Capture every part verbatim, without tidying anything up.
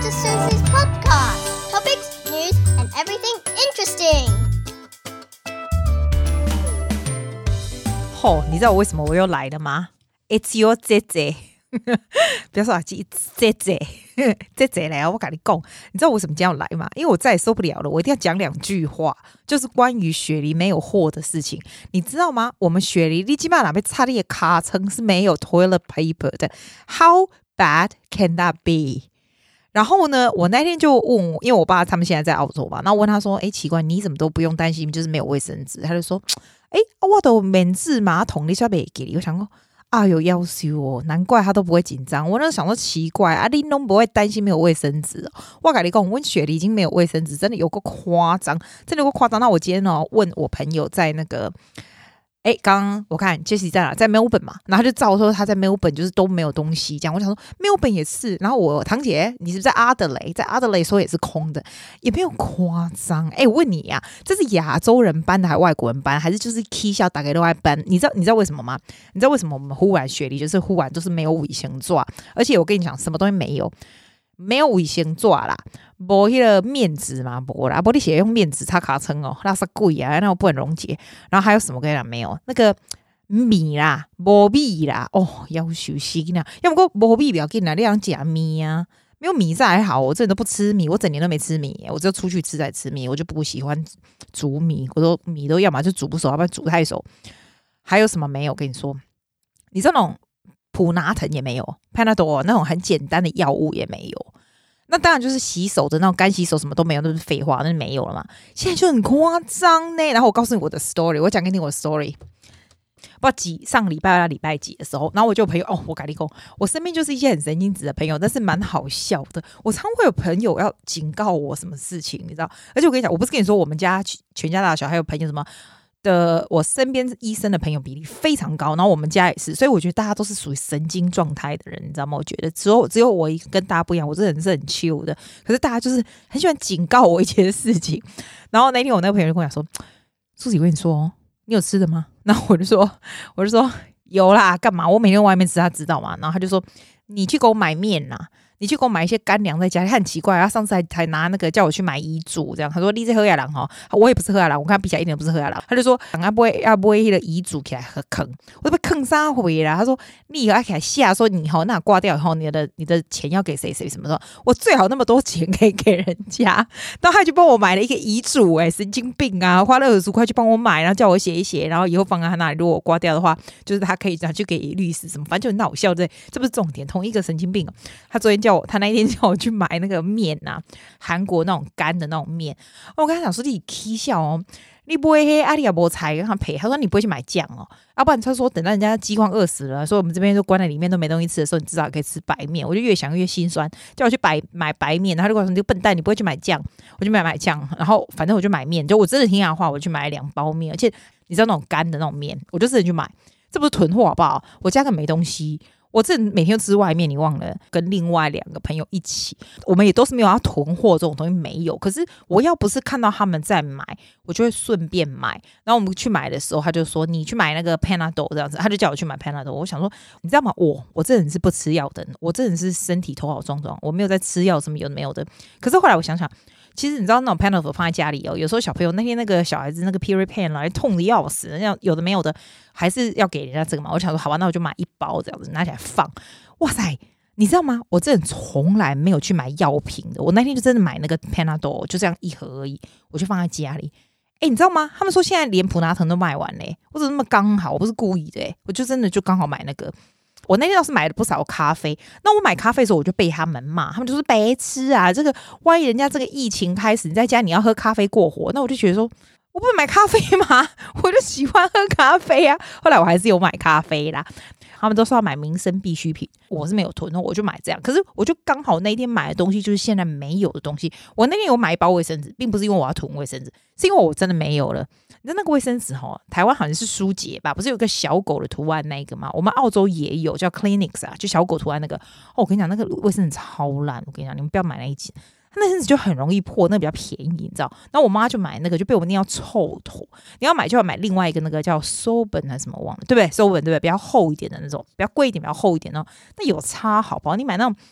Missus Susie's podcast. Topics, news, and everything interesting. 吼，你知道我為什麼我又來了嗎？ It's your 姐姐，不要說啊，姐姐姐姐來啊！我跟你講，你知道我為什麼今天要來嗎？因為我再也受不了了，我一定要講兩句話，就是關於雪梨沒有貨的事情，你知道嗎？我們雪梨你基本上哪邊插的卡層是沒有 toilet paper 的 ，How bad can that be？然後呢，我那天就問我，因為我爸他們現在在澳洲嘛，然後我問他說：“哎，奇怪，你怎麼都不用擔心，就是沒有衛生紙？”他就說：“哎，我都免治馬桶，你需要不給你？”我想說，啊，有要求哦，難怪他都不會緊張。我那時候想說奇怪，啊，你都不會擔心沒有衛生紙哦？我跟你講，我雪梨已經沒有衛生紙，真的有夠誇張，真的有夠誇張。那我今天呢，問我朋友在那個。哎，剛剛我看 Jessie 在哪？在 Melbourne 嘛，然後他就照說他在 Melbourne 就是都沒有東西這樣。我想說 Melbourne 也是，然後我堂姐你是不是在阿德雷？在阿德雷說也是空的，也沒有誇張。哎，我問你呀、啊，這是亞洲人搬的還是外國人搬，還是就是 K 校大概都愛搬？你知道你知道為什麼嗎？你知道為什麼我們忽然雪梨就是忽然就是沒有衛生紙，而且我跟你講什麼東西沒有？沒有衛生紙啦，沒那個面紙嘛，沒啦，不你寫用面紙擦卡稱哦，那是貴啊，那我不能溶解。然後還有什麼跟你講沒有？那個米啦，沒米啦，哦，要休息呢。要不過沒米不要緊啦，你想吃米啊？沒有米這還好，我這人都不吃米，我整年都沒吃米，我只有出去吃才吃米，我就不喜歡煮米，我說米都要麼就煮不熟，要不然煮太熟。還有什麼沒有？跟你說，你這種。普拿疼也沒有 Panadol 那種很簡單的藥物也沒有，那當然就是洗手的那種乾洗手什麼都沒有，那是廢話，那是沒有了嘛。現在就很誇張呢。然後我告訴你我的 story， 我講給你聽我的 story。不知道幾上個禮拜到禮拜幾的時候，然後我就有朋友哦，我跟你講，我身邊就是一些很神經質的朋友，但是蠻好笑的。我常會有朋友要警告我什麼事情，你知道？而且我跟你講，我不是跟你說我們家全家大小還有朋友什麼。的我身邊醫生的朋友比例非常高，然後我們家也是，所以我覺得大家都是屬於神經狀態的人，你知道嗎？我覺得只有只有我跟大家不一樣，我這人是很 chill 的，可是大家就是很喜歡警告我一些事情。然後那天我那個朋友就跟我講說：“舒淇，我跟你說，你有吃的嗎？”然後我就說：“我就說有啦，幹嘛？我每天外面吃，他知道嗎？”然後他就說：“你去給我買麵啦。”你去給我買一些乾糧在家裡，他很奇怪，他上次還還拿那個叫我去買遺囑，這樣他說你這喝亞郎哈，我也不是喝亞郎，我看他比起來一點都不是喝亞郎，他就說啊不會啊不會那個遺囑起來很坑，我都被坑三回啦。他說你以後還給他下說你好那掛掉以後你的你的錢要給誰誰什麼的，我最好那麼多錢可以給人家，然後他就幫我買了一個遺囑，哎神經病啊，花了二十塊去幫我買，然後叫我寫一寫，然後以後放在他那裡，如果我掛掉的話，就是他可以拿去給律師什麼，反正就很好笑，對，這不是重點，同一個神經病、哦，他昨天叫我，他那一天叫我。我去買那個麵啊，韓國那種乾的那種麵。我跟他講說你起笑哦，你不會黑阿里亞波菜跟他賠。他說你不會去買醬哦，要不然他說等到人家饑荒餓死了，所以我們這邊就關在裡面都沒東西吃的時候，你至少可以吃白麵。我就越想越心酸，叫我去買買白麵，然後他就跟我說你這個笨蛋，你不會去買醬，我就買買醬。然後反正我就買麵，就我真的聽他的話，我去買了兩包麵，而且你知道那種乾的那種麵，我就自己去買，這不是囤貨好不好？我家根本沒東西。我這每天都吃外面，你忘了跟另外兩個朋友一起，我們也都是沒有要囤貨這種東西沒有。可是我要不是看到他們在買，我就會順便買。然後我們去買的時候，他就說你去買那個 Panadol 這樣子，他就叫我去買 Panadol。我想說，你知道嗎？我我這人是不吃藥的，我這人是身體頭好壯壯，我沒有在吃藥什麼有的沒有的。可是後來我想想。其實你知道那種 Panadol 放在家裡哦，有時候小朋友那天那個小孩子那個 period pain 來痛的要死，那有的沒有的，還是要給人家這個嘛。我想說好吧，那我就買一包這樣子拿起來放。哇塞，你知道嗎？我這人從來沒有去買藥品的，我那天就真的買那個 Panadol 就這樣一盒而已，我就放在家裡。哎，你知道嗎？他們說現在連普拿疼都賣完嘞，我怎麼那麼剛好？我不是故意的，我就真的就剛好買那個。我那天倒是買了不少咖啡，那我買咖啡的時候我就被他們罵，他們就說白痴啊，這個萬一人家這個疫情開始你在家你要喝咖啡過活，那我就覺得說我不是買咖啡嗎？我就喜歡喝咖啡啊。後來我還是有買咖啡啦，他們都說要買民生必需品，我是沒有囤，我就買這樣。可是我就剛好那天買的東西就是現在沒有的東西。我那天有買一包衛生紙，並不是因為我要囤衛生紙，是因為我真的沒有了。你知道那個衛生紙齁，台灣好像是舒潔吧，不是有個小狗的圖案那個嗎？我們澳洲也有叫 Clinics 啊，就小狗圖案那個。哦，我跟你講，那個衛生紙超爛，我跟你講，你們不要買那一集。它那陣子就很容易破，那個比較便宜，你知道？然後我媽就買那個，就被我念要臭頭。你要買就要買另外一個那個叫 Soben 還是什麼忘了，對不對 ？Soben 對不對？比較厚一點的那種，比較貴一點，比較厚一點哦。那有差好不好？你買那種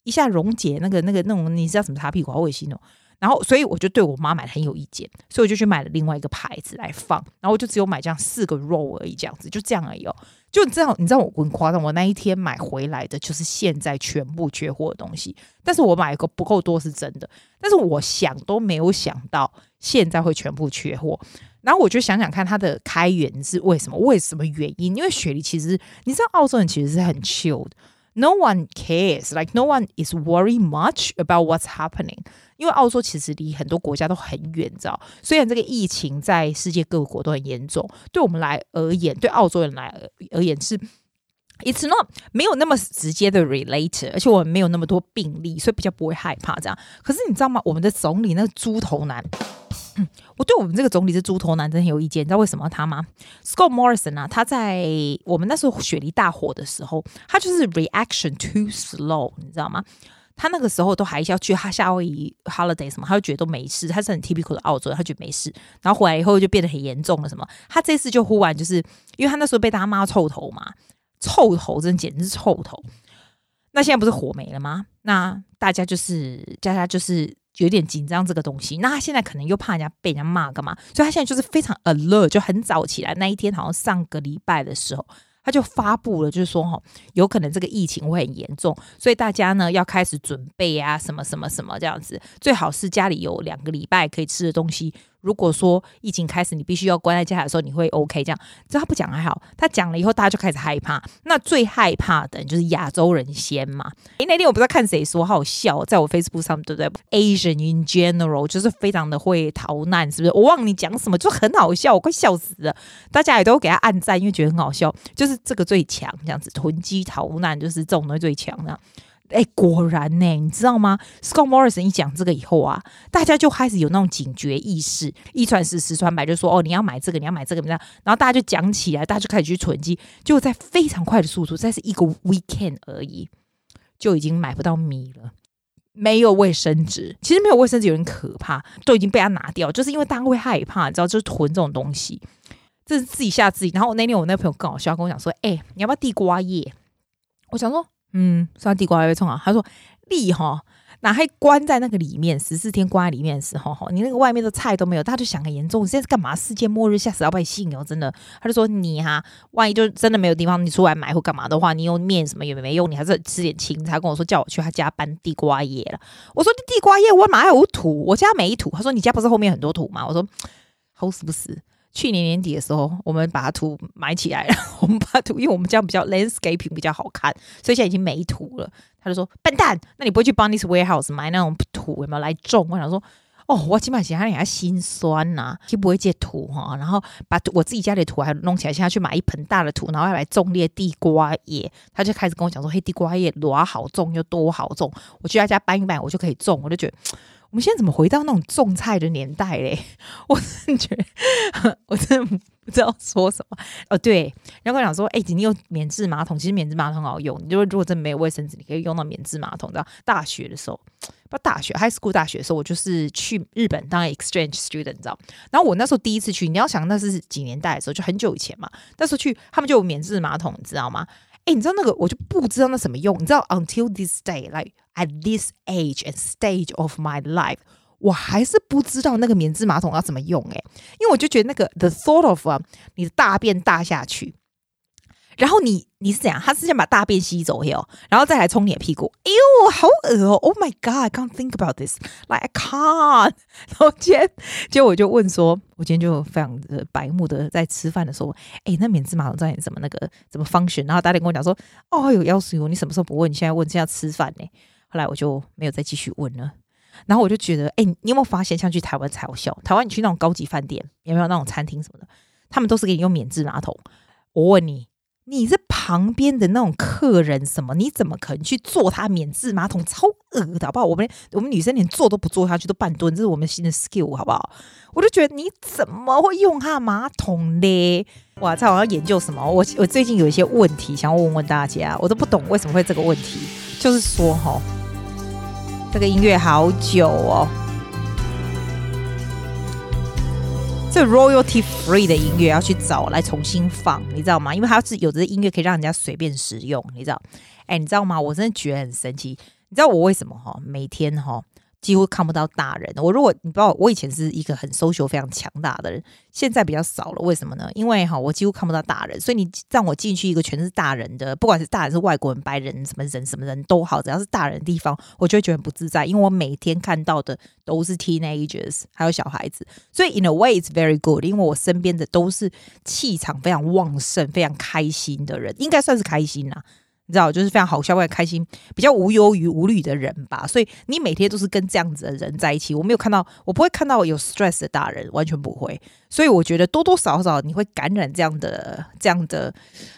一下溶解那個那個那種，你知道什麼擦屁股好噁心哦。然後，所以我就對我媽買的很有意見，所以我就去買了另外一個牌子來放，然後我就只有買這樣四個 roll 而已，這樣子就這樣而已哦。就你知道，你知道我很誇張，我那一天買回來的就是現在全部缺貨的東西，但是我買一個不夠多是真的，但是我想都沒有想到現在會全部缺貨。然後我就想想看它的開源是為什麼，為什麼原因？因為雪梨其實你知道，澳洲人其實是很 chill 的。No one cares, like no one is worried much about what's happening. 因為澳洲其實離很多國家都很遠，你知道？雖然這個疫情在世界各國都很嚴重，對我們來而言，對澳洲人來而言是 it's not 沒有那麼直接的 relate， 而且我們沒有那麼多病例，所以比較不會害怕這樣。可是你知道嗎？我們的總理那個豬頭男。嗯、我對我們這個總理是豬頭男真的很有意見，你知道為什麼他嗎 ？Scott Morrison 啊，他在我們那時候雪梨大火的時候，他就是 reaction too slow， 你知道嗎？他那個時候都還是要去他夏威夷 holiday 什麼，他就覺得都沒事，他是很 typical 的澳洲人，他覺得沒事，然後回來以後就變得很嚴重了什麼。他這次就忽然就是因為他那時候被大家罵臭頭嘛，臭頭真的簡直是臭頭。那現在不是火沒了嗎？那大家就是大家就是。有點緊張這個東西，那他現在可能又怕人家被人家罵幹嘛，所以他現在就是非常 alert， 就很早起來那一天，好像上個禮拜的時候，他就發布了，就是說哈，有可能這個疫情會很嚴重，所以大家呢要開始準備啊，什麼什麼什麼這樣子，最好是家裡有兩個禮拜可以吃的東西。如果說疫情開始你必須要關在家裡的時候，你會 OK 這樣。只要他不講還好，他講了以後大家就開始害怕。那最害怕的就是亞洲人先嘛。誒，那天我不知道看誰說，好好笑，在我 Facebook 上對不對 ？Asian in general 就是非常的會逃難，是不是？我忘了你講什麼，就很好笑，我快笑死了。大家也都給他按讚，因為覺得很好笑。就是這個最強，這樣子囤積逃難就是這種東西最強的。哎，果然呢，你知道嗎 ？Scott Morrison 一講這個以後啊，大家就開始有那種警覺意識，一傳十，十傳百，就說哦，你要買這個，你要買這個，這樣，然後大家就講起來，大家就開始去囤積，就在非常快的速度，再是一個 weekend 而已，就已經買不到米了，沒有衛生紙。其實沒有衛生紙有點可怕，都已經被他拿掉，就是因為大家會害怕，你知道，就是囤這種東西，這是自己嚇自己。然後那天我那個朋友更好笑，跟我講說，哎，你要不要地瓜葉？我想說。嗯，算地瓜會衝啊！他說：“你哈，哪還關在那個裡面十四天關在裡面的時候，哈，你那個外面的菜都沒有，大家就想很嚴重，你現在是幹嘛？世界末日，嚇死老百姓哦！真的。”他就說：“你哈，萬一就真的沒有地方，你出來買或幹嘛的話，你用麵什麼也沒用，你還是吃點青菜。”跟我說叫我去他家搬地瓜葉了。我說：“地瓜葉我哪有土？我家沒土。”他說：“你家不是後面很多土嗎？”我說：“好死不死。”去年年底的時候，我們把土買起來了。我們把土，因為我們這樣比較 landscaping 比較好看，所以現在已經沒土了。他就說：“笨蛋，那你不會去 Bunnings Warehouse 買那種土有沒有來種？”我想說：“哦，我起碼想他，你還心酸吶、啊，就不會借土哈。然後把我自己家裡的土還弄起來，現在去買一盆大的土，然後要來種列地瓜葉。”他就開始跟我講說：“嘿，地瓜葉多好種又多好種，我去他家搬一搬，我就可以種。”我就覺得。我們現在怎麼回到那種種菜的年代嘞？我真的覺得，我真的不知道說什麼。哦，對，然後跟我講說，哎、欸，你有免治馬桶，其實免治馬桶很好用。你就如果真的沒有衛生紙，你可以用到免治馬桶。知道大學的時候，不大學 high school 大學的時候，我就是去日本當 exchange student，你知道。然後我那時候第一次去，你要想那是幾年代的時候，就很久以前嘛。那時候去，他們就有免治馬桶，你知道嗎？哎，你知道那個我就不知道那什麼用，你知道 until this day, like at this age and stage of my life， 我還是不知道那個免治馬桶要怎麼用哎，因為我就覺得那個 the thought of、uh, 你的大便大下去，然後你你是怎樣？他是先把大便吸走喲，然後再來沖你的屁股。哎呦，好惡哦 ！Oh my god, I can't think about this. Like I can't. 然後今天，結果我就問說，我今天就非常的白目的在吃飯的時候，哎，那免治馬桶在什麼那個怎麼 function？ 然後大家跟我講說，哦，有要求，你什麼時候不問？你現在問，現在吃飯呢？後來我就沒有再繼續問了。然後我就覺得，哎，你有沒有發現，像去台灣才好笑？台灣你去那種高級飯店，有沒有那種餐廳什麼的，他們都是給你用免治馬桶。我問你。你是旁邊的那種客人什麼？你怎麼可能去坐他免治馬桶？超惡的好不好？我們我們女生連坐都不坐下去，都半蹲，這是我們新的 skill 好不好？我就覺得你怎麼會用他馬桶呢？哇，這好像研究什麼？我我最近有一些問題想要問問大家，我都不懂為什麼會這個問題。就是說齁，這個音樂好久哦。這 royalty free 的音樂要去找來重新放，你知道嗎？因為它是有的音樂可以讓人家隨便使用，你知道？哎，你知道嗎？我真的覺得很神奇。 你知道我為什麼哈？每天哈幾乎看不到大人。我如果你不知道，我以前是一個很 social 非常強大的人，現在比較少了。為什麼呢？因為哈我幾乎看不到大人，所以你讓我進去一個全是大人的，不管是大人是外國人、白人、什麼人、什麼人都好，只要是大人的地方，我就會覺得很不自在。因為我每天看到的都是 teenagers， 還有小孩子，所以 in a way it's very good， 因為我身邊的都是氣場非常旺盛、非常開心的人，應該算是開心啦。你知道，就是非常好笑、非常開心、比較無憂於無慮的人吧。所以你每天都是跟這樣子的人在一起，我沒有看到，我不會看到有 stress 的大人，完全不會。所以我覺得多多少少你會感染這樣的、這樣的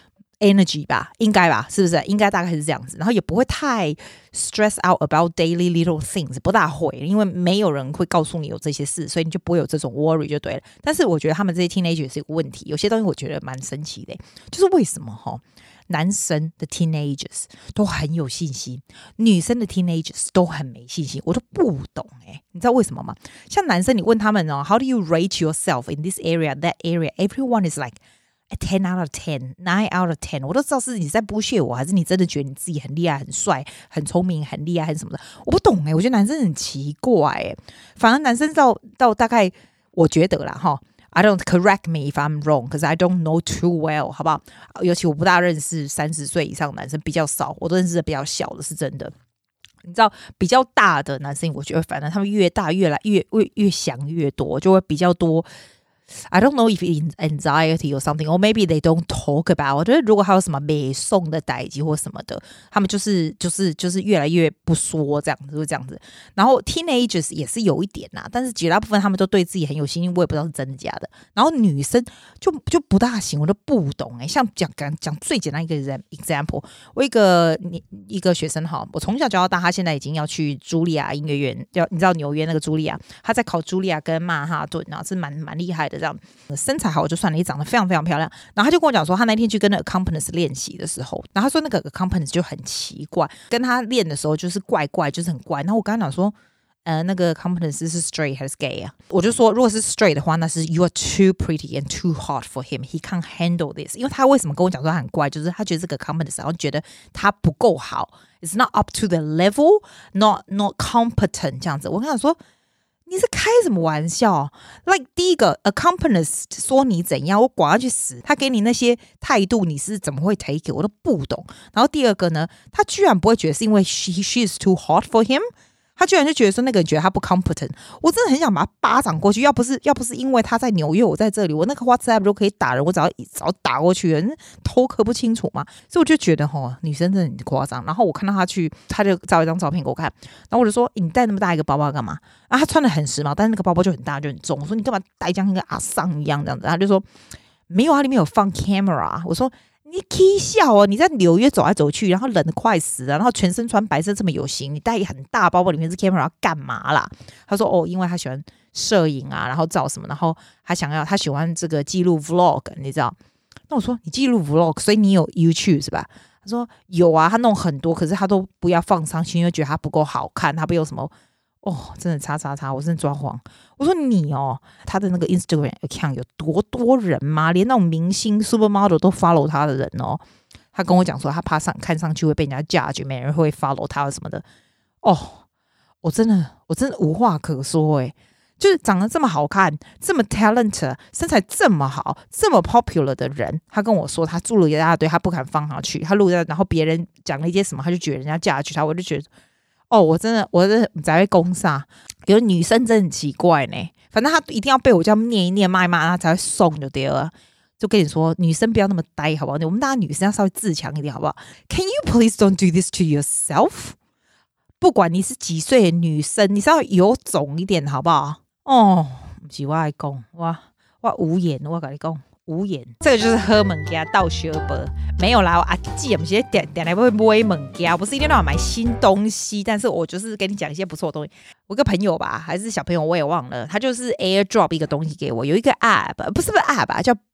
energy 吧，應該吧，是不是？應該大概是這樣子。然後也不會太 stress out about daily little things， 不大會，因為沒有人會告訴你有這些事，所以你就不會有這種 worry 就對了。但是我覺得他們這些 teenager 是一個問題，有些東西我覺得蠻神奇的，就是為什麼齁？男生的 teenagers 都很有信心，女生的 teenagers 都很沒信心，我都不懂哎、欸，你知道為什麼嗎？像男生，你問他們哦 ，How do you rate yourself in this area, that area? Everyone is like a ten out of ten, nine out of ten。我都知道是你在bullshit我，還是你真的覺得你自己很厲害、很帥、很聰明、很厲害，還是什麼的？我不懂哎、欸，我覺得男生很奇怪哎、欸，反而男生到到大概，我覺得啦哈。I don't correct me if I'm wrong, because I don't know too well， 好不好？尤其我不大認識三十歲以上的男生，比較少，我都認識的比較小的，是真的。你知道，比較大的男生，我覺得反正他們越大，越來越越越想越多，就會比較多。I don't know if it's anxiety or something, or maybe they don't talk about。我覺得如果還有什麼美送的代誌或什麼的，他們就是就是就是越來越不說這樣子，就這樣子。然後 teenagers 也是有一點啦，但是絕大部分他們都對自己很有信心，我也不知道是真的假的。然後女生就就不大行，我都不懂哎、欸。像講講講最簡單一個 example， 我一個一個學生哈，我從小教到大，他現在已經要去茱莉亞音樂院，要你知道紐約那個茱莉亞，他在考茱莉亞跟曼哈頓啊，是蠻蠻厲害的。這樣身材好就算了，也長得非常非常漂亮。然後他就跟我講說，他那天去跟那個 accompanist 練習的時候，然後他說那個 accompanist 就很奇怪，跟他練的時候就是怪怪，就是很怪。然後我跟他講說，呃，那個 accompanist 是 straight 還是 gay 啊？我就說，如果是 straight 的話，那是 you are too pretty and too hot for him. He can't handle this. 因為他為什麼跟我講說他很怪，就是他覺得這個 accompanist 然後覺得他不夠好 ，it's not up to the level, not not competent 這樣子。我跟他說。你是開什麼玩笑 ？Like 第一個 accompanist 說你怎樣，我管他去死。他給你那些態度，你是怎麼會 take it？ 我都不懂。然後第二個呢，他居然不會覺得是因為 she she is too hot for him。他居然就覺得說那個人覺得他不 competent， 我真的很想把他巴掌過去。要不是要不是因為他在紐約，我在這裡，我那個 WhatsApp 都可以打人，我只要只要打過去，人頭殼不清楚嘛。所以我就覺得齁，女生真的很誇張。然後我看到他去，他就照一張照片給我看，然後我就說：“你帶那麼大一個包包幹嘛？”啊，他穿的很時髦，但是那個包包就很大就很重。我說：“你幹嘛帶像一個阿桑一樣這樣子？”他就說：“沒有啊，裡面有放 camera。”我說。你起笑哦！你在紐約走來走去，然後冷得快死了，然後全身穿白色這麼有型，你帶一個很大包包，裡面是 camera 要幹嘛啦？他說哦，因為他喜歡攝影啊，然後照什麼，然後他想要他喜歡這個記錄 vlog， 你知道？那我說你記錄 vlog， 所以你有 YouTube 是吧？他說有啊，他弄很多，可是他都不要放上去，因為覺得他不夠好看，他不有什麼。哦，真的叉叉叉，我真的抓狂。我說你哦，他的那個 Instagram account 有多多人嗎？連那種明星 supermodel 都 follow 他的人哦。他跟我講說，他怕上看上去會被人家 judge，沒人會 follow 他什麼的。哦，我真的，我真的無話可說誒，就是長得這麼好看，這麼 talent， 身材這麼好，這麼 popular 的人，他跟我說他做了一大堆，他不敢放上去，他錄了，然後別人講了一些什麼，他就覺得人家 judge 他，我就覺得。哦，我真的，我真的才會攻殺。有的女生真的很奇怪呢，反正她一定要被我這樣念一念、罵一罵，她才會送就對了。就跟你說，女生不要那麼呆，好不好？我們大家女生要稍微自強一點，好不好 ？Can you please don't do this to yourself？ 不管你是幾歲的女生，你稍微有種一點，好不好？哦，不是我愛講，我我無言，我跟你講。無言，這個就是喝物件倒相報，沒有啦。我阿姊不是點點來會買物件，不是一定要買新東西，但是我就是跟你講一些不錯的東西。我個朋友吧，還是小朋友，我也忘了，他就是 AirDrop 一個東西給我，有一個 App， 不是不是 App 啊，叫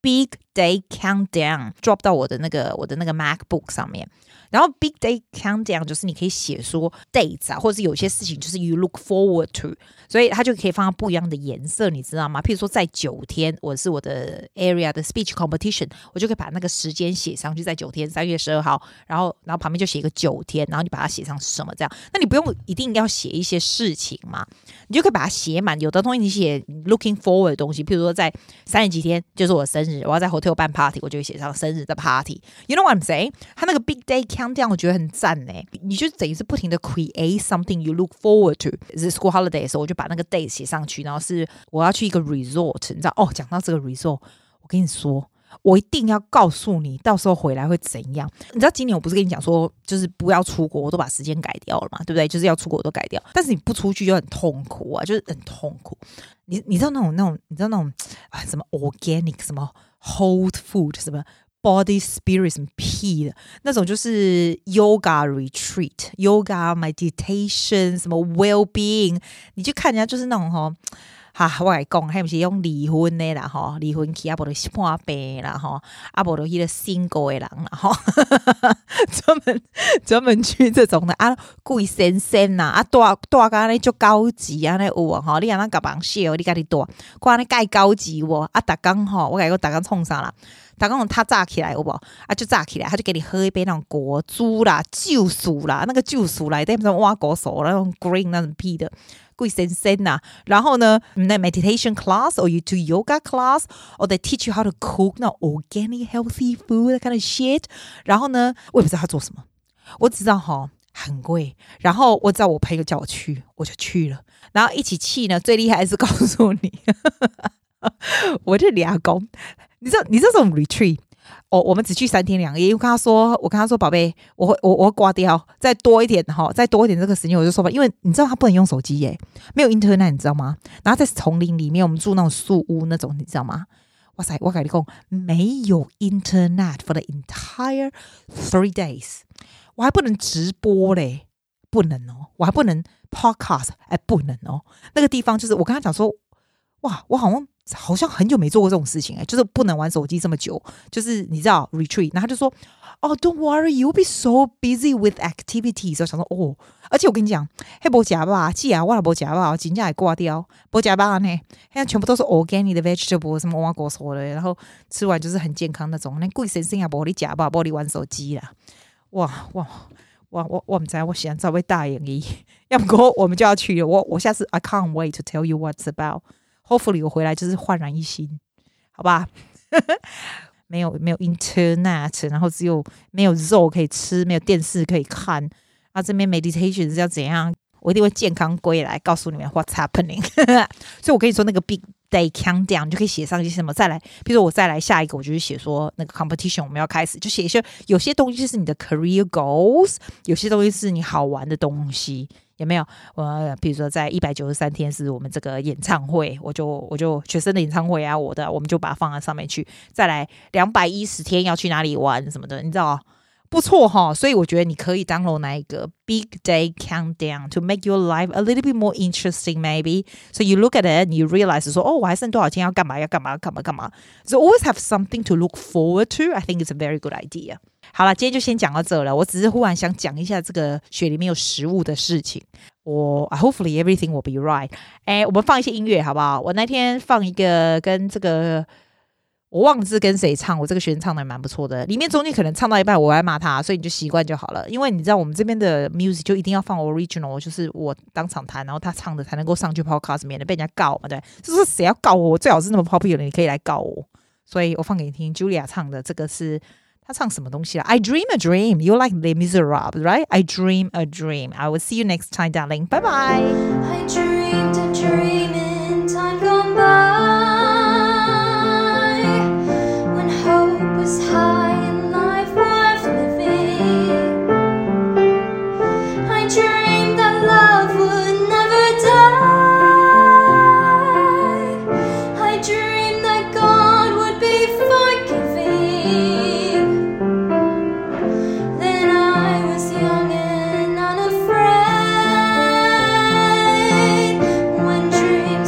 Big Day Countdown drop 到我的那個我的那個 MacBook 上面。然後 Big Day Countdown 就是你可以寫說 dates 啊，或者是有些事情就是 you look forward to， 所以它就可以放到不一樣的顏色，你知道嗎？譬如說在九天，我是我的 area 的 speech competition， 我就可以把那個時間寫上去，在九天，三月十二號，然後然後旁邊就寫一個九天，然後你把它寫上是什麼這樣，那你不用一定要寫一些事情嘛，你就可以把它寫滿。有的東西你寫 looking forward 的東西，譬如說在三十幾天就是我生日，我要在 hotel 辦 party， 我就會寫上生日的 party。You know what I'm saying？ 它那個 Big Day Countdown 我覺得很讚耶，你就等於是不停的 create something you look forward to。是 school holiday 的時候，我就把那個 day 寫上去，然後是我要去一個 resort， 你知道哦？講到這個 resort， 我跟你說，我一定要告訴你，到時候回來會怎樣？你知道今年我不是跟你講說，就是不要出國，我都把時間改掉了嘛，對不對？就是要出國我都改掉，但是你不出去就很痛苦啊，就是很痛苦。你你知道那種那種，你知道那種啊什麼 organic 什麼 whole food 什麼。Body spirit 什麼屁的那種，就是 yoga retreat yoga meditation 什麼 well-being， 你就看人家就是那種齁哈，我跟你講，還不是用離婚的啦齁，離婚去啊不就破病啦齁，啊不就那個 single 的人啦齁，專門專門去這種的啊，貴先生吶，啊大大個那就高級啊那有啊齁，你讓他甲人笑，你家己大，看那蓋高級喔，啊大剛齁，我跟你講大剛創啥啦？他講他炸起來有沒有啊？就炸起來，他就給你喝一杯那種果汁啦、酒素啦，那個酒素來帶什麼挖果手那種 green 那種屁的，貴先生吶。然後呢，那 meditation class or you do yoga class or they teach you how to cook 那 organic healthy food that kind of shit。然後呢，我也不知道他做什麼，我只知道哈很貴。然後我知道我朋友叫我去，我就去了。然後一起去呢，最厲害的是告訴你。我就倆公，你知道你知道這種 retreat， 哦，我們只去三天兩夜。因為我跟他說，我跟他說，寶貝，我會我我會掛掉，再多一點哈，再多一點這個時間我就說吧。因為你知道他不能用手機耶，沒有 internet， 你知道嗎？然後在叢林裡面，我們住那種樹屋那種，你知道嗎？哇塞，我跟你講，沒有 internet for the entire three days， 我還不能直播嘞，不能哦，我還不能 podcast， 哎，不能哦。那個地方就是我跟他講說，哇，我好像。好像很久沒做過這種事情哎、欸，就是不能玩手機這麼久，就是你知道 retreat， 然後他就說哦 ，Don't worry, you'll be so busy with activities。我想說哦，而且我跟你講，嘿，沒吃吧，既然我也沒吃吧，真正還掛掉，沒吃吧呢，現在全部都是 organic 的 vegetable， 什麼挖果說的，然後吃完就是很健康那種。那貴先生也沒你吃吧，沒你玩手機啦，哇哇哇我我不知道，我想稍微大眼一，要不過我們就要去了，我我下次 I can't wait to tell you what's about。Hopefully 我回來就是煥然一新，好吧？沒有沒有 internet， 然後只有沒有肉可以吃，沒有電視可以看。啊，這邊 meditation 是要怎樣？我一定會健康歸來，告訴你們 what's happening。所以我跟你說，那個 big day countdown 你就可以寫上一些什麼。再來，比如說我再來下一個，我就是寫說那個 competition 我們要開始，就寫一些有些東西就是你的 career goals， 有些東西是你好玩的東西。有沒有？我比如說，在一百九十三天是我們這個演唱會，我就我就學生的演唱會啊，我的我們就把它放在上面去。再來兩百一十天要去哪裡玩什麼的，你知道不錯哈。所以我覺得你可以 download 那一個 Big Day Countdown to make your life a little bit more interesting, maybe. So you look at it and you realize 說，哦，我還剩多少天要幹嘛？要幹嘛？要幹嘛？幹嘛？ So always have something to look forward to. I think it's a very good idea. 好了，今天就先講到這了。我只是忽然想講一下這個雪裡面有食物的事情。我 hopefully everything will be right。哎，我們放一些音樂好不好？我那天放一個跟這個我忘記是跟誰唱，我這個學生唱的蠻不錯的。裡面中間可能唱到一半我要罵他，所以你就習慣就好了。因為你知道我們這邊的 music 就一定要放 original， 就是我當場彈，然後他唱的才能夠上去 podcast， 免得被人家告嘛。對，就是誰要告我，我最好是那麼 popular， 你可以來告我。所以我放給你聽 ，Julia 唱的這個是。他唱什麼東西啦 I dream a dream. You like Les Miserables, right? I dream a dream. I will see you next time, darling. Bye bye. I dreamed a dream in time gone by, when hope was high and life worth living. I dreamed that love would never die. I dreamed that God would be forgiving.Young and unafraid, when dreams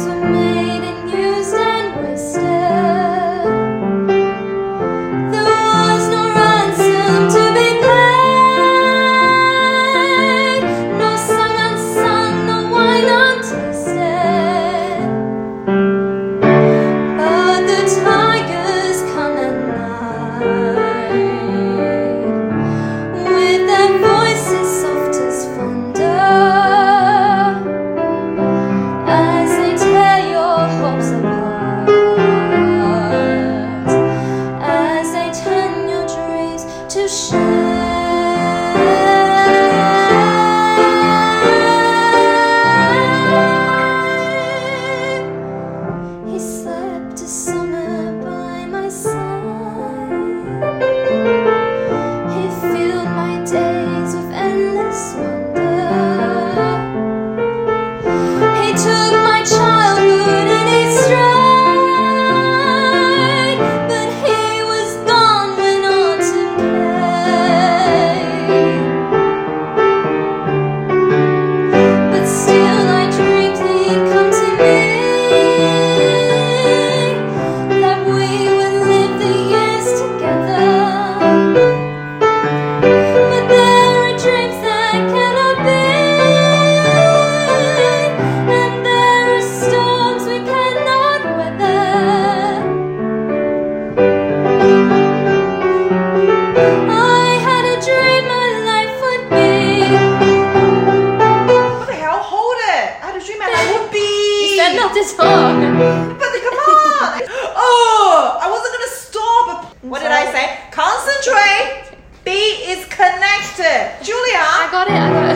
He slept a summer by my side. He filled my days with endless wonder. He took my childhood in his stride, but he was gone when autumn came. But still I dreamed he'd come to me, that we would live the years together. But there are dreams that cannot be, and there are storms we cannot weather. I had a dream my life would be. What the hell? Hold it! I had a dream and I would be. You said not to talk. But the, come on! Oh, I wasn't gonna stop. What did I say? Concentrate. B is connected. Julia. I got it, I got it.